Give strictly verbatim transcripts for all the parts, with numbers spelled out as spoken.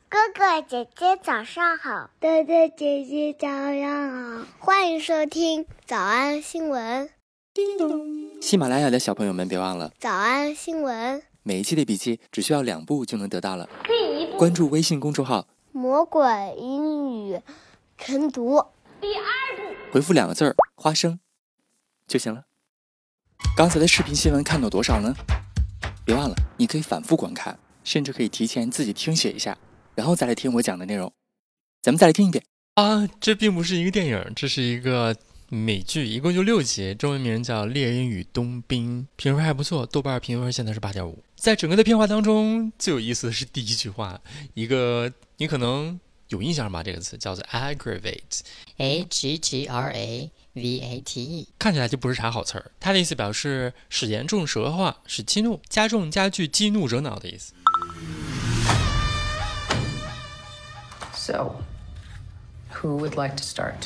哥哥姐姐早上好， 哥哥姐姐早上好， 欢迎收听早安新闻。 叮咚！喜马拉雅的小朋友们别忘了早安新闻， 每一期的笔记只需要两步就能得到了。第一步，关注微信公众号魔鬼英语晨读。 第二步， 回复两个字儿花生就行了。刚才的视频新闻看到多少呢？别忘了你可以反复观看，甚至可以提前自己听写一下，然后再来听我讲的内容。咱们再来听一遍啊！这并不是一个电影，这是一个美剧，一共就六集，中文名叫《猎鹰与冬兵》，评分还不错，豆瓣评分现在是 八点五。 在整个的片花当中，最有意思的是第一句话，一个你可能有印象吧，这个词叫做 aggravate A G G R A V A T E， 看起来就不是啥好词儿。它的意思表示使严重、使恶化、使激怒、加重、加剧、激怒、惹恼的意思。 So, who would like to start?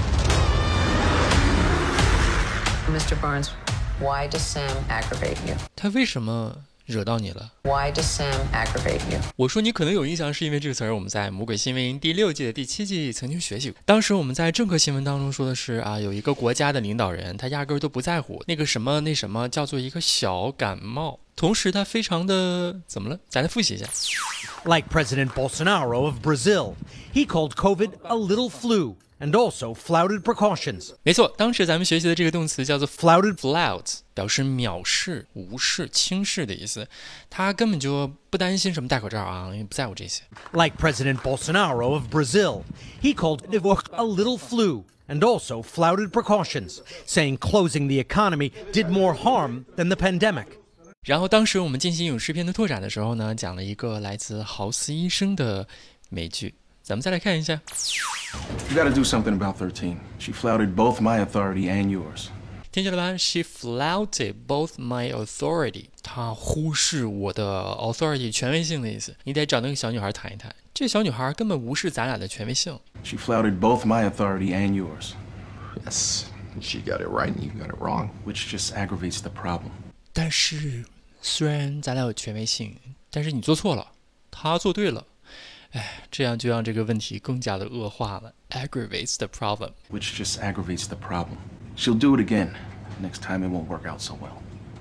Mister Barnes, why does Sam aggravate you? 他为什么惹到你了？ Why does Sam aggravate you? 我说你可能有印象，是因为这个词儿我们在《魔鬼新闻营》第六季的第七季曾经学习过。当时我们在政课新闻当中说的是啊，有一个国家的领导人，他压根儿都不在乎那个什么那什么叫做一个小感冒，同时他非常的怎么了？咱来复习一下。 Like President Bolsonaro of Brazil, he called COVID a little flu and also flouted precautions. 没错，当时咱们学习的这个动词叫做 flouted flout， 表示藐视、无视、轻视的意思。他根本就不担心什么戴口罩啊，因为不在乎这些。 Like President Bolsonaro of Brazil, he called it a little flu and also flouted precautions, saying closing the economy did more harm than the pandemic. 然后当时我们进行影视片的拓展的时候呢，讲了一个来自豪斯医生的美剧，咱们再来看一下。 You gotta do something about thirteen. She flouted both my authority and yours. 听见了吧 ？She flouted both my authority. 她忽视我的 authority 权威性的意思。你得找那个小女孩谈一谈，这小女孩根本无视咱俩的权威性。 She flouted both my authority and yours. Yes, she got it right and you got it wrong. Which just aggravates the problem. 但是虽然咱俩有权威性，但是你做错了，他做对了。哎，这样就让这个问题更加的恶化了 aggravates the problem. Which just aggravates the problem. She'll do it again. Next time it won't work out so well.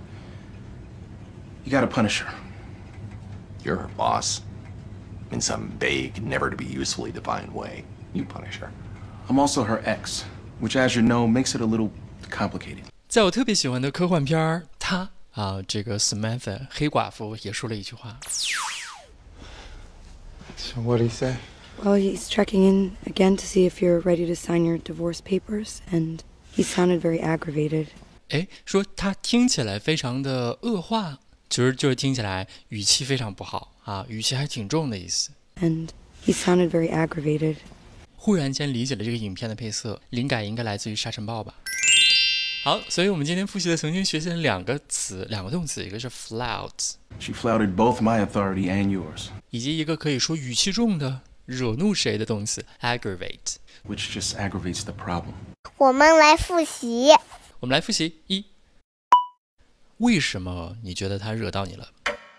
You gotta punish her. You're her boss. In some vague, never to be usefully defined way, you punish her. I'm also her ex, which as you know makes it a little complicated. 在我特别喜欢的科幻片他啊，这个 Samantha 黑寡妇也说了一句话。 So what did he say? Well, he's checking in again to see if you're ready to sign your divorce papers, and he sounded very aggravated. 哎，说他听起来非常的恶化，其实就是听起来语气非常不好啊，语气还挺重的意思。 And he sounded very aggravated. 忽然间理解了这个影片的配色，灵感应该来自于沙尘暴吧。好，所以我们今天复习的曾经学习了两个词，两个动词，一个是 flout， She flouted both my authority and yours. 以及一个可以说语气重的惹怒谁的动词 aggravate， Which just aggravates the problem. 我们来复习。 我们来复习一，为什么你觉得他惹到你了？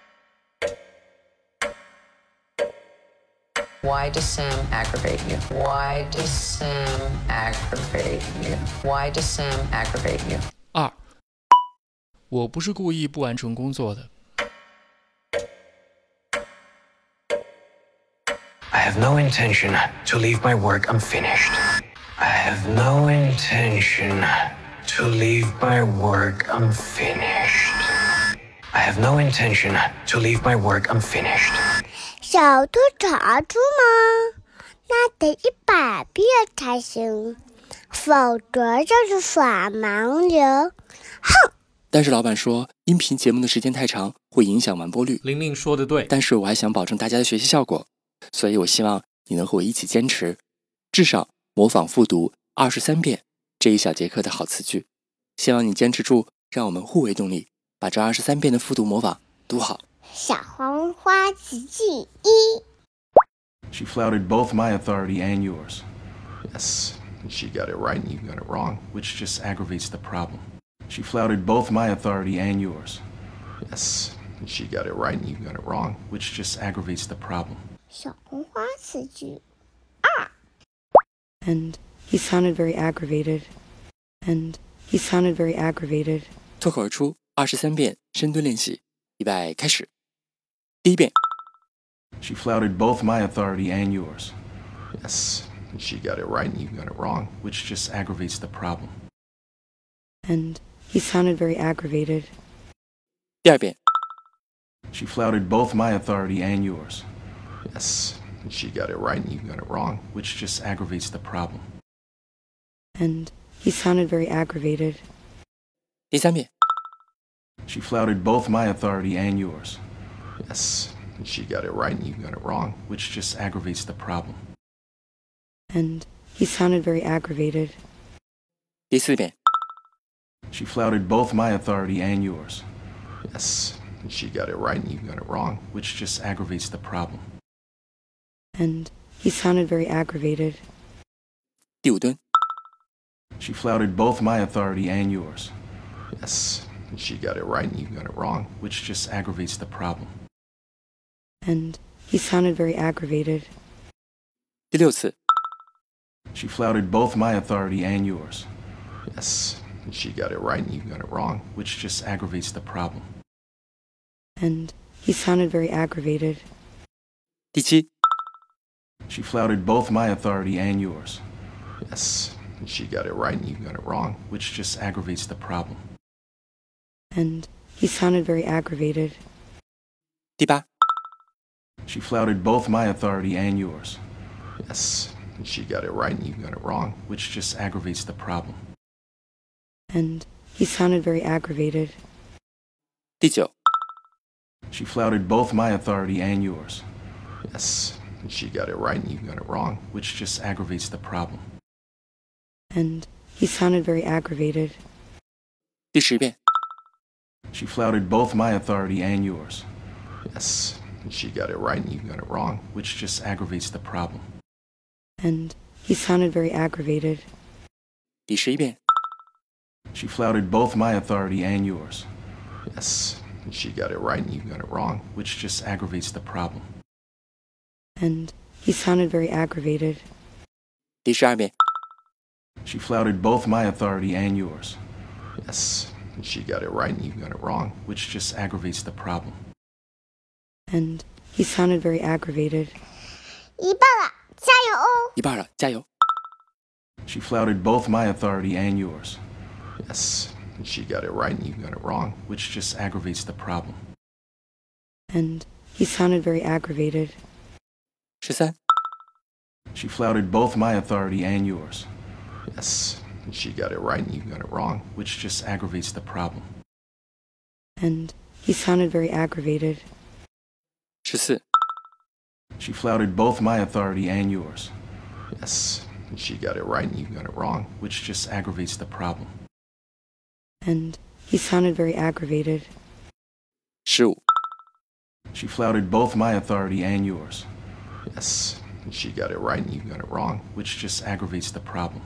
Why does Sam aggravate you? Why does Sam aggravate you? Why does Sam aggravate you? 二，我不是故意不完成工作的。 I have no intention to leave my work unfinished. I have no intention to leave my work unfinished. I have no intention to leave my work unfinished. 小兔查出吗？那得一百遍才行，否则就是耍盲流。哼！ 但是老板说，音频节目的时间太长，会影响完播率。 玲玲说的对， 但是我还想保证大家的学习效果，所以我希望你能和我一起坚持，至少模仿复读二十三遍这一小节课的好词句。希望你坚持住，让我们互为动力，把这二十三遍的复读模仿读好。 小黄花词句一。 She flouted both my authority and yours. Yes, she got it right and you got it wrong. Which just aggravates the problem. She flouted both my authority and yours. Yes, she got it right and you got it wrong. Which just aggravates the problem. 小红花词句 And he sounded very aggravated. And he sounded very aggravated. 脱口而出二十三遍深蹲练习，预备开始。第一遍 She flouted both my authority and yours. Yes, she got it right and you got it wrong. Which just aggravates the problem. And he sounded very aggravated. 第二遍 She flouted both my authority and yours. Yes, she got it right and you got it wrong. Which just aggravates the problem. And he sounded very aggravated. 第三遍 She flouted both my authority and yours. Yes, she got it right and you got it wrong. Which just aggravates the problem. And he sounded very aggravated. 第四遍 She flouted both my authority and yours. Yes, she got it right and you got it wrong. Which just aggravates the problem. And he sounded very aggravated. 第五蹲 She flouted both my authority and yours. Yes, she got it right and you got it wrong. Which just aggravates the problem. And he sounded very aggravated. 第六次 She flouted both my authority and yours. Yes, she got it right and you got it wrong. Which just aggravates the problem. And he sounded very aggravated. 第七 She flouted both my authority and yours. Yes, she got it right and you got it wrong. Which just aggravates the problem. And he sounded very aggravated. 第八 She flouted both my authority and yours. Yes, she got it right and you got it wrong. Which just aggravates the problem. And he sounded very aggravated. 第九 She flouted both my authority and yours. Yes, she got it right and you got it wrong. Which just aggravates the problem. And he sounded very aggravated. 第十遍 She flouted both my authority and yours. Yes, she got it right and you got it wrong. Which just aggravates the problem. And he sounded very aggravated. 第十一遍 She flouted both my authority and yours. Yes, she got it right and you got it wrong. Which just aggravates the problem. And he sounded very aggravated. 第十二遍 She flouted both my authority and yours. Yes, she got it right and you got it wrong. Which just aggravates the problem. And he sounded very aggravated. 一半了，加油哦！ 一半了，加油！ She flouted both my authority and yours. Yes, she got it right and you got it wrong. Which just aggravates the problem. And he sounded very aggravated. 十三 She flouted both my authority and yours. Yes, she got it right and you got it wrong. Which just aggravates the problem. And he sounded very aggravated. 十四 She flouted both my authority and yours. Yes, she got it right and you got it wrong. Which just aggravates the problem. And he sounded very aggravated. 十五 She flouted both my authority and yours. Yes, she got it right and you got it wrong. Which just aggravates the problem.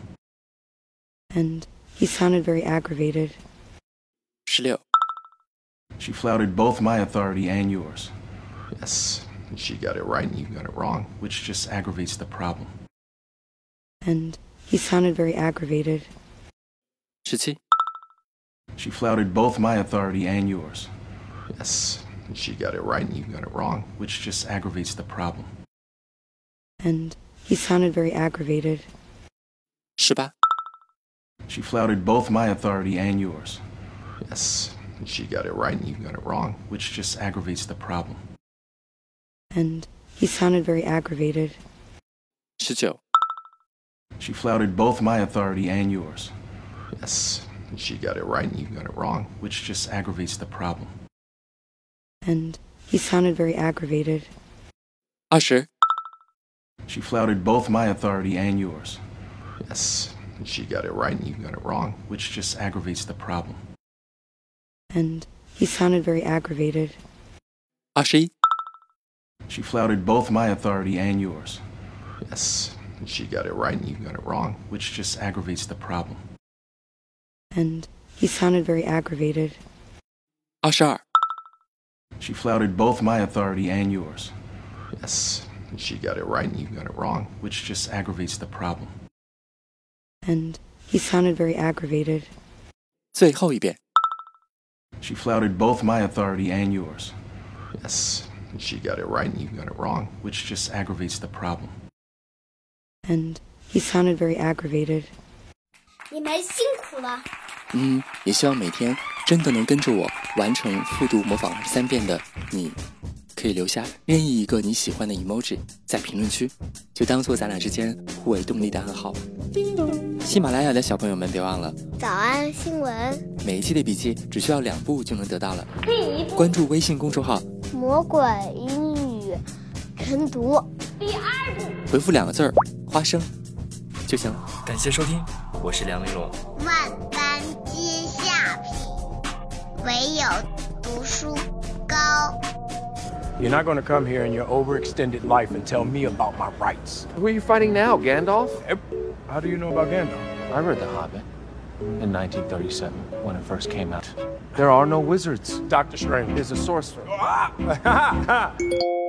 And he sounded very aggravated. 十六 She flouted both my authority and yours. Yes, she got it right and you got it wrong. Which just aggravates the problem. And he sounded very aggravated. 十七 She flouted both my authority and yours. Yes, she got it right and you got it wrong. Which just aggravates the problem. And he sounded very aggravated. 十八 She flouted both my authority and yours. Yes, she got it right and you got it wrong. Which just aggravates the problem. And he sounded very aggravated. 十九 She flouted both my authority and yours. Yes, she got it right and you got it wrong. Which just aggravates the problem. And he sounded very aggravated. 二十 She flouted both my authority and yours. Yes, she got it right and you got it wrong. Which just aggravates the problem. And he sounded very aggravated. 二十一 She flouted both my authority and yours. Yes, she got it right and you got it wrong. Which just aggravates the problem. And he sounded very aggravated. 二十二 She flouted both my authority and yours. Yes, she got it right and you got it wrong. Which just aggravates the problem. And he sounded very aggravated. 最后一遍。 She flouted both my authority and yours. Yes, she got it right and you got it wrong. Which just aggravates the problem. And he sounded very aggravated. 你们辛苦了。 嗯，也希望每天真的能跟着我完成复读模仿二十三遍的你，可以留下任意一个你喜欢的 emoji 在评论区，就当做咱俩之间互为动力的暗号。喜马拉雅的小朋友们别忘了早安新闻， 每一期的笔记只需要两步就能得到了。第一步，关注微信公众号魔鬼英语晨读。第二步， 回复两个字儿花生就行了。感谢收听，我是梁玲珑。 万般皆下品，唯有读书高。 You're not going to come here in your overextended life and tell me about my rights. Who are you fighting now, Gandalf? How do you know about Gandalf? I read The Hobbit in nineteen thirty-seven when it first came out. There are no wizards. Doctor Strange is a sorcerer.